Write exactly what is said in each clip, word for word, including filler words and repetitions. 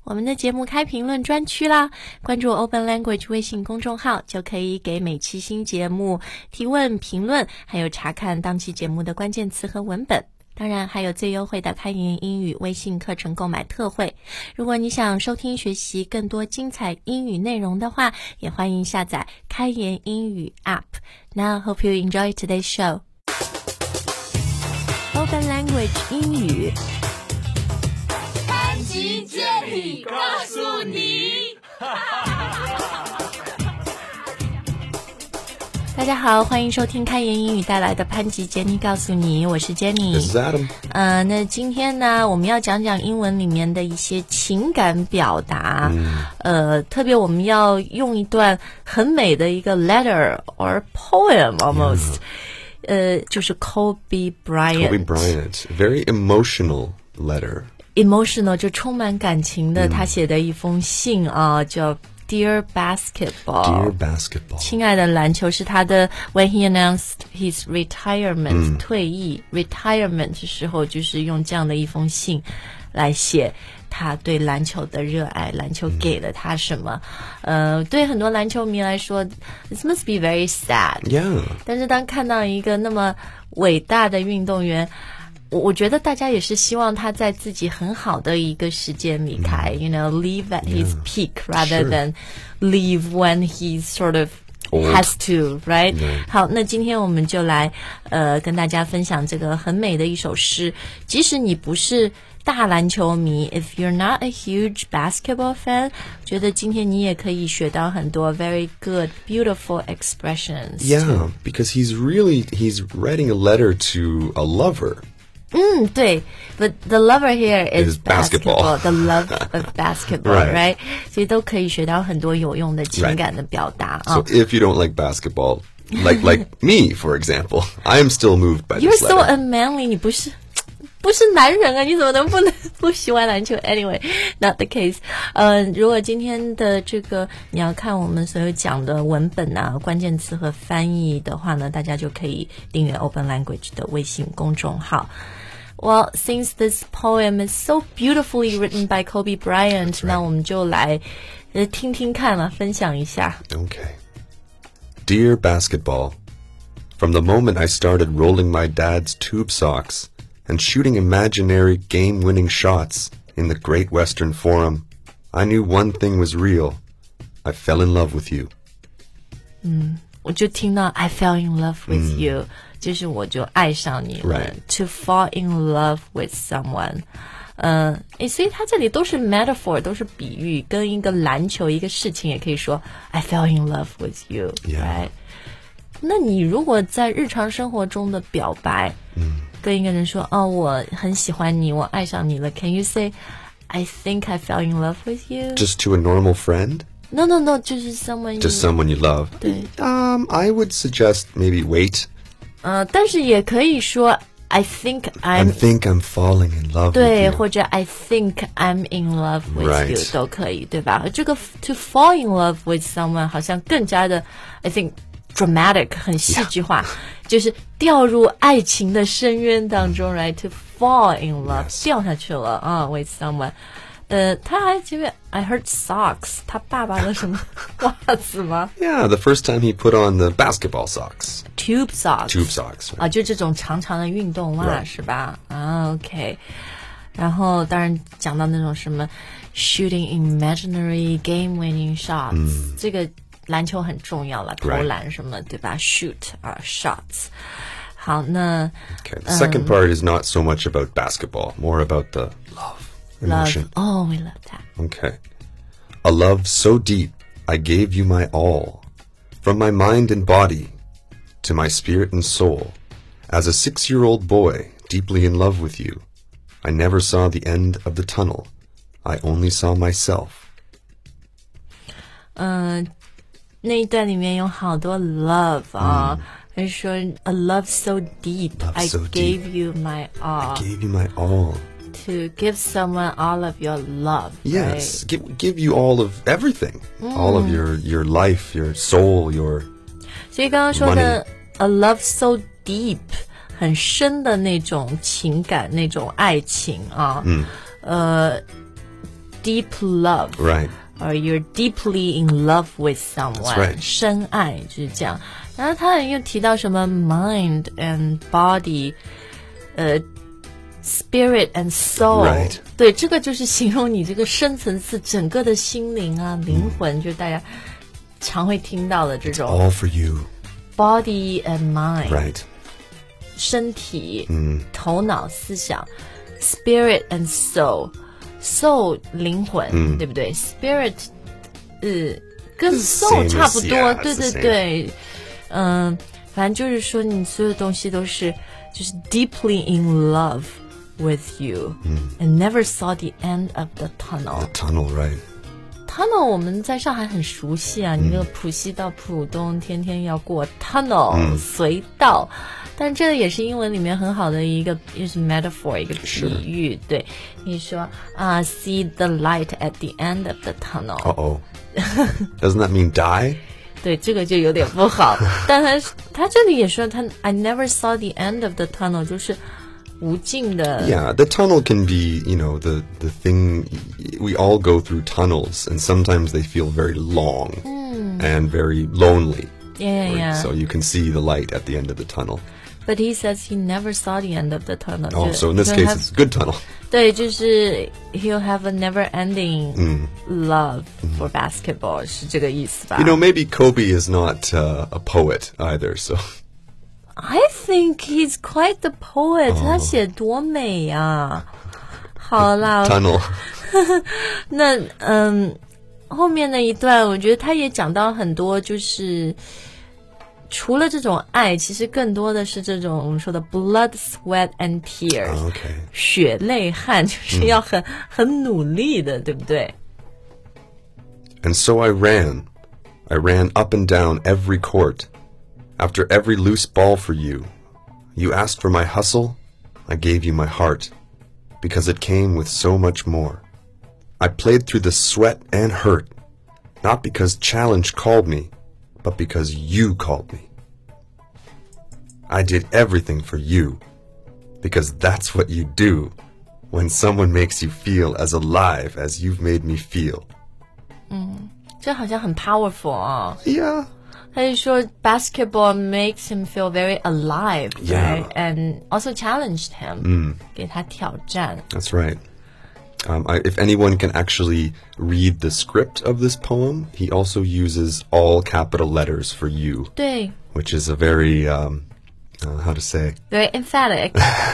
我们的节目开评论专区啦，关注 Open Language 微信公众号就可以给每期新节目提问评论，还有查看当期节目的关键词和文本。当然还有最优惠的开言英语微信课程购买特惠。如果你想收听学习更多精彩英语内容的话，也欢迎下载开言英语 App. Now hope you enjoy today's show. Open Language 英语潘吉建议告诉你大家好，欢迎收听开言英语带来的潘吉杰尼告诉你，我是 Jenny。 This is Adam。 呃，那今天呢，我们要讲讲英文里面的一些情感表达。嗯、呃，特别我们要用一段很美的一个 letter or poem almost。Yeah. 呃，就是 Kobe Bryant。Kobe Bryant, very emotional letter。Emotional 就充满感情的，嗯、他写的一封信啊，叫Dear Basketball. Dear Basketball. 亲爱的篮球是他的 When he announced his retirement、嗯、退役 retirement 的时候，就是用这样的一封信来写他对篮球的热爱，篮球给了他什么。嗯、呃，对很多篮球迷来说 This must be very sad. Yeah. 但是当看到一个那么伟大的运动员，我觉得大家也是希望他在自己很好的一个时间离开、mm. you know, leave at his yeah. peak rather sure. than leave when he sort of Old. has to, right? Yeah. 好，那今天我们就来呃跟大家分享这个很美的一首诗。即使你不是大篮球迷 if you're not a huge basketball fan, 觉得今天你也可以学到很多 very good, beautiful expressions. Yeah, too. because he's really, he's writing a letter to a lover. 嗯，对 but the lover here is, is basketball. basketball the love of basketball right. right 所以都可以学到很多有用的情感的表达 right. So、哦、if you don't like basketball like like me for example I am still moved by You're this letter. so unmanly 你不是不是男人啊，你怎么能不能不喜欢篮球 Anyway, not the case. 呃，如果今天的这个你要看我们所有讲的文本啊、关键词和翻译的话呢，大家就可以订阅 Open Language 的微信公众号。Well, since this poem is so beautifully written by Kobe Bryant, right. 那我们就来呃听听看了，分享一下。 Okay. Dear Basketball, from the moment I started rolling my dad's tube socks and shooting imaginary game-winning shots in the Great Western Forum, I knew one thing was real. I fell in love with you. 嗯，我就听到 I fell in love with、嗯、you.就是我就爱上你了、 right. To fall in love with someone. 呃，诶，所以它这里都是 metaphor, 都是比喻，跟一个篮球一个事情也可以说 I fell in love with you, yeah. right? 那你如果在日常生活中的表白、嗯、跟一个人说哦，我很喜欢你，我爱上你了 Can you say I think I fell in love with you? Just to a normal friend?No, no, no, 就是 someone you... Just someone you love. 对 Um, I would suggest maybe wait. 呃，但是也可以说 I think I'm... I think I'm falling in love with you. 对，或者 I think I'm in love with right. you 都可以，对吧？这个 to fall in love with someone 好像更加的 I think dramatic 很戏剧化、yeah. 就是掉入爱情的深渊当中 right? To fall in love、yes. 掉下去了啊、uh, with someone。呃，他还前面 I heard socks 他爸爸的什么袜子吗 Yeah, the first time he put on the basketball socks. Tube socks. Tube socks. Right. 啊，就这种长长的运动袜、right. 是吧啊 OK 然后当然讲到那种什么 shooting imaginary game winning shots、嗯、这个篮球很重要了，投篮什么、right. 对吧 shoot 啊、uh, shots 好那 Okay, the second、um, part is not so much about basketball, more about the love.Emotion. Love. Oh, we love that. Okay. A love so deep, I gave you my all. From my mind and body to my spirit and soul. As a six-year-old boy, deeply in love with you, I never saw the end of the tunnel. I only saw myself. 嗯、uh, 那一段里面有好多 love 啊、uh, 他、嗯、说 A love so deep, love I so gave deep. you my all. I gave you my all.To give someone all of your love. Yes, right? give, give you all of everything. Mm. All of your, your life, your soul, your 所以刚刚说的 a love so deep 很深的那种情感，那种爱情啊。嗯。呃， deep love. Right.Or you're deeply in love with someone. That's right. 深爱就是这样。然后他又提到什么 mind and body, 呃、uh, spirit and soul. Right. 对，这个就是形容你这个深层次整个的心灵啊、灵魂， mm. 就是大家常会听到的这种。 It's all for you. Body and mind. Right. 身体、 mm. 头脑、思想。Spirit and soul.Soul 灵魂、嗯、对不对 Spirit 呃跟 soul 差不多 as, yeah, 对对对嗯、呃、反正就是说你所有东西都是就是 deeply in love with you、嗯、and never saw the end of the tunnel the tunnel right tunnel 我们在上海很熟悉啊、嗯、你那个浦西到浦东天天要过 tunnel、嗯、隧道但这个也是英文里面很好的一个就是 metaphor 一个比喻对你说啊、uh, see the light at the end of the tunnel Uh-oh Doesn't that mean die? 对这个就有点不好但他他这里也说他 I never saw the end of the tunnel 就是无尽的 Yeah, the tunnel can be, you know, the, the thing we all go through tunnels and sometimes they feel very long mm. and very lonely Yeah, yeah, yeah. So you can see the light at the end of the tunnel.But he says he never saw the end of the tunnel. Oh, so in this case, have, it's a good tunnel. 对，就是 he'll have a never-ending、mm. love for、mm. basketball， 是这个意思吧 You know, maybe Kobe is not、uh, a poet either, so. I think he's quite the poet. 、oh. 他写多美啊！好啦 ，tunnel 那嗯，后面那一段，我觉得他也讲到很多，就是。除了这种爱其实更多的是这种我们说的 blood, sweat and tears、oh, okay. 血泪汗就是要很、嗯、很努力的对不对 And so I ran I ran up and down every court After every loose ball for you You asked for my hustle I gave you my heart Because it came with so much more I played through the sweat and hurt Not because challenge called me But because you called me. I did everything for you. Because that's what you do when someone makes you feel as alive as you've made me feel. 嗯，这好像很 powerful 啊。 Yeah. 他就说 basketball makes him feel very alive, yeah. right? And also challenged him. 嗯， 给他挑战。 That's right.Um, I, if anyone can actually read the script of this poem, he also uses all capital letters for you. 对 Which is a very, um, uh, how to say? Very emphatic.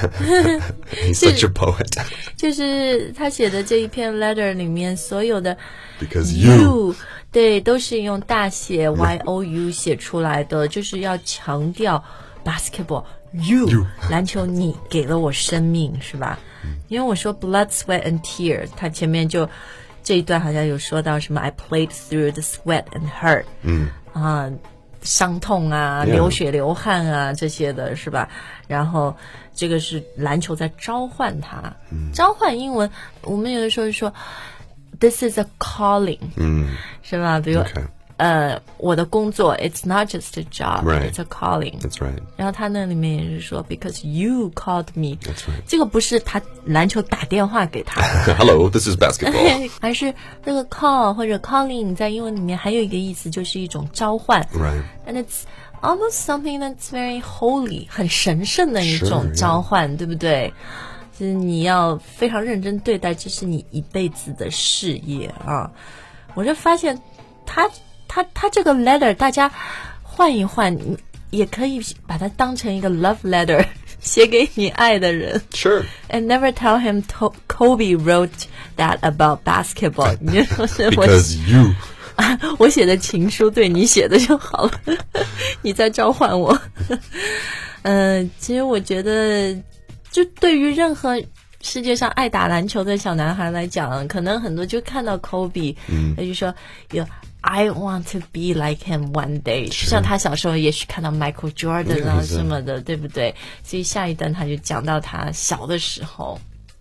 He's such a poet. 就是他写的这一篇 letter 里面所有的 Because you. 对，都是用大写 Y O U 写出来的，就是要强调 basketball.You, you. 篮球你给了我生命是吧因为我说 blood, sweat and tears 他前面就这一段好像有说到什么 I played through the sweat and hurt 嗯啊伤痛啊 yeah. 流血流汗啊这些的是吧然后这个是篮球在召唤他、嗯、召唤英文我们有的时候说 this is a calling 嗯是吧比如、okay.呃，我的工作 it's not just a job, right. it's a calling. That's right. 然后他那里面也是说 because you called me. That's right. 这个不是他篮球打电话给他。 Hello, this is basketball. 而是那个 call 或者 calling 在英文里面还有一个意思就是一种召唤。 Right. And it's almost something that's very holy, 很神圣的一种召唤， sure, yeah. 对不对？就是你要非常认真对待，这是你一辈子的事业啊！我就发现他。他他这个 letter 大家换一换也可以把它当成一个 love letter 写给你爱的人 Sure And never tell him to, Kobe wrote that about basketball Because you 我写的情书对你写的就好了你在召唤我嗯、呃，其实我觉得就对于任何世界上爱打篮球的小男孩来讲可能很多就看到 Kobe 他就说有I want to be like him one day 就像他小时候也许看到 Michael Jordan 啊什么的对不对所以下一段他就讲到他小的时候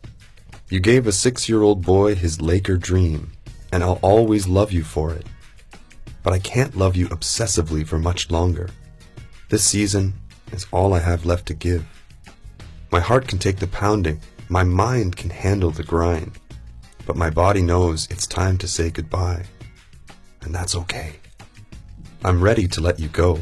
You gave a six-year-old boy his Laker dream and I'll always love you for it But I can't love you obsessively for much longer This season is all I have left to give My heart can take the pounding My mind can handle the grind but my body knows it's time to say goodbye. And that's okay. I'm ready to let you go.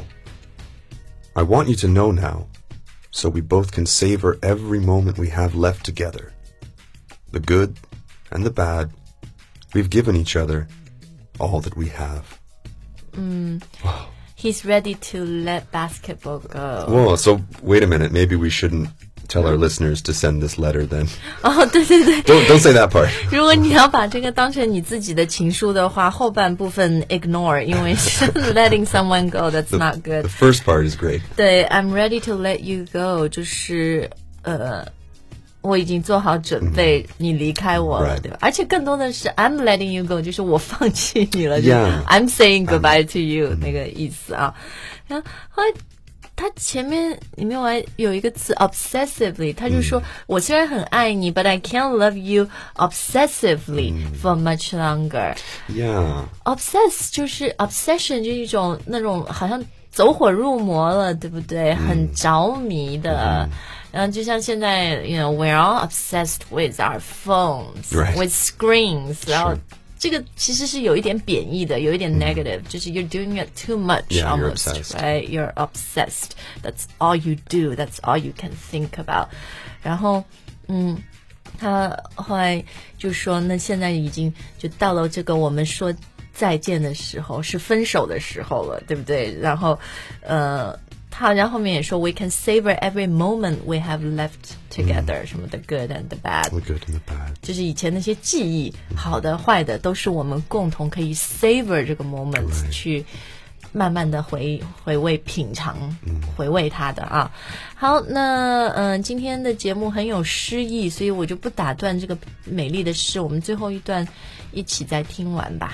I want you to know now, so we both can savor every moment we have left together. The good and the bad, we've given each other all that we have. Mm. He's ready to let basketball go. Whoa, so wait a minute. Maybe we shouldn't tell our listeners to send this letter then. 哦，对对对 Don't, don't say that part. 如果你要把这个当成你自己的情书的话，后半部分 ignore， 因为是 letting someone go, that's The, not good. the first part is great. 对 I'm ready to let you go 就是呃我已经做好准备，你离开我了， Right. 对吧？而且更多的是 I'm letting you go， 就是我放弃你了， Yeah. I'm saying goodbye to you 那个意思啊。然后后来他前面里面我还有一个词 obsessively， 他就说、嗯、我虽然很爱你 but I can't love you obsessively、嗯、for much longer. Yeah. Obsess 就是 obsession 就是一种那种好像走火入魔了，对不对？嗯、很着迷的。嗯然后就像现在 you know we're all obsessed with our phones、right. with screens、sure. 然后这个其实是有一点贬义的，有一点 negative、mm. 就是 you're doing it too much、yeah, almost you're obsessed. right you're obsessed that's all you do that's all you can think about 然后嗯他后来就说那现在已经就到了这个我们说再见的时候是分手的时候了，对不对？然后呃他好像后面也说 we can savor every moment we have left together、嗯、什么 the good and the bad the good and the bad 就是以前那些记忆、嗯、好的坏的都是我们共同可以 savor 这个 moment、right. 去慢慢的回回味品尝、嗯、回味它的啊。好，那嗯、呃，今天的节目很有诗意，所以我就不打断这个美丽的诗，我们最后一段一起再听完吧。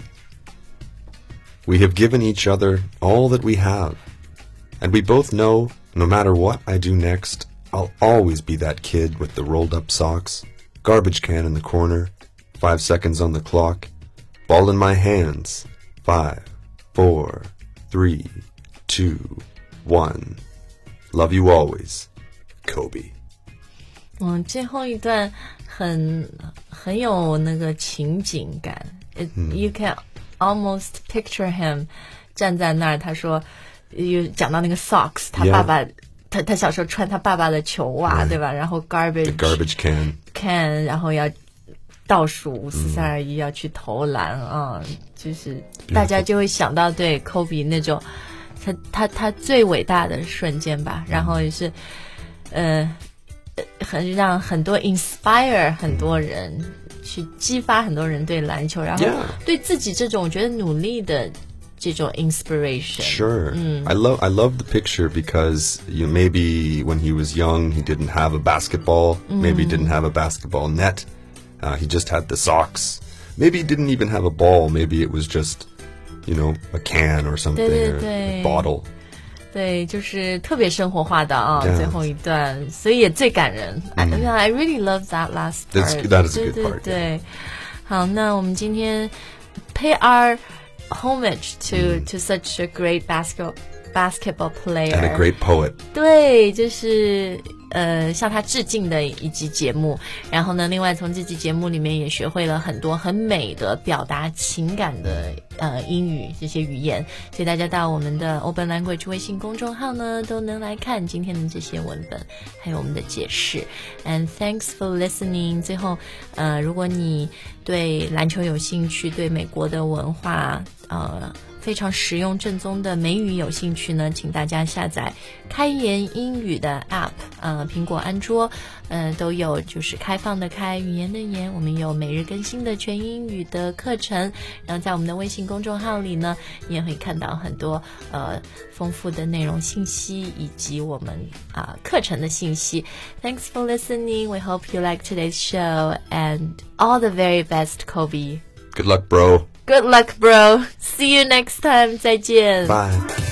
We have given each other all that we have.And we both know, no matter what I do next, I'll always be that kid with the rolled-up socks, garbage can in the corner, five seconds on the clock, ball in my hands, five, four, three, two, one. Love you always, Kobe. 嗯，最后一段很很有那个情景感。It, 嗯、you can almost picture him 站在那儿，他说。有讲到那个 socks 他爸爸、yeah. 他他小时候穿他爸爸的球袜、right. 对吧？然后 garbage The garbage can can 然后要倒数五四三二一要去投篮啊、嗯，就是大家就会想到对 Kobe 那种他他他最伟大的瞬间吧，然后也是呃很让很多 inspire 很多人、嗯、去激发很多人对篮球，然后对自己这种我觉得努力的这种 inspiration. Sure. Mm. I love I love the picture because you know, maybe when he was young he didn't have a basketball, mm. maybe he didn't have a basketball net. Uh, he just had the socks. Maybe he didn't even have a ball, maybe it was just, you know, a can or something 对对对 or a bottle. 对，就是特别生活化的啊、 yeah. 最后一段，所以也最感人。Mm. I, I really love that last part. That's, that is a good 对 part. 对对，好，那我们今天 pay our homage to、mm. to such a great basketball basketball player and a great poet. 对，就是呃向他致敬的一集节目。然后呢，另外从这集节目里面也学会了很多很美的表达情感的呃英语这些语言，所以大家到我们的 Open Language 微信公众号呢都能来看今天的这些文本还有我们的解释。And thanks for listening. 最后呃如果你对篮球有兴趣，对美国的文化呃非常实用正宗的美语有兴趣呢，请大家下载开言英语的 app， 呃，苹果、安卓，呃，都有，就是开放的开，语言的言，我们有每日更新的全英语的课程，然后在我们的微信公众号里呢，你也会看到很多呃丰富的内容信息以及我们啊、呃、课程的信息。Thanks for listening. We hope you like today's show and all the very best, Kobe. Good luck, bro. Good luck, bro. See you next time. 再见。 Bye.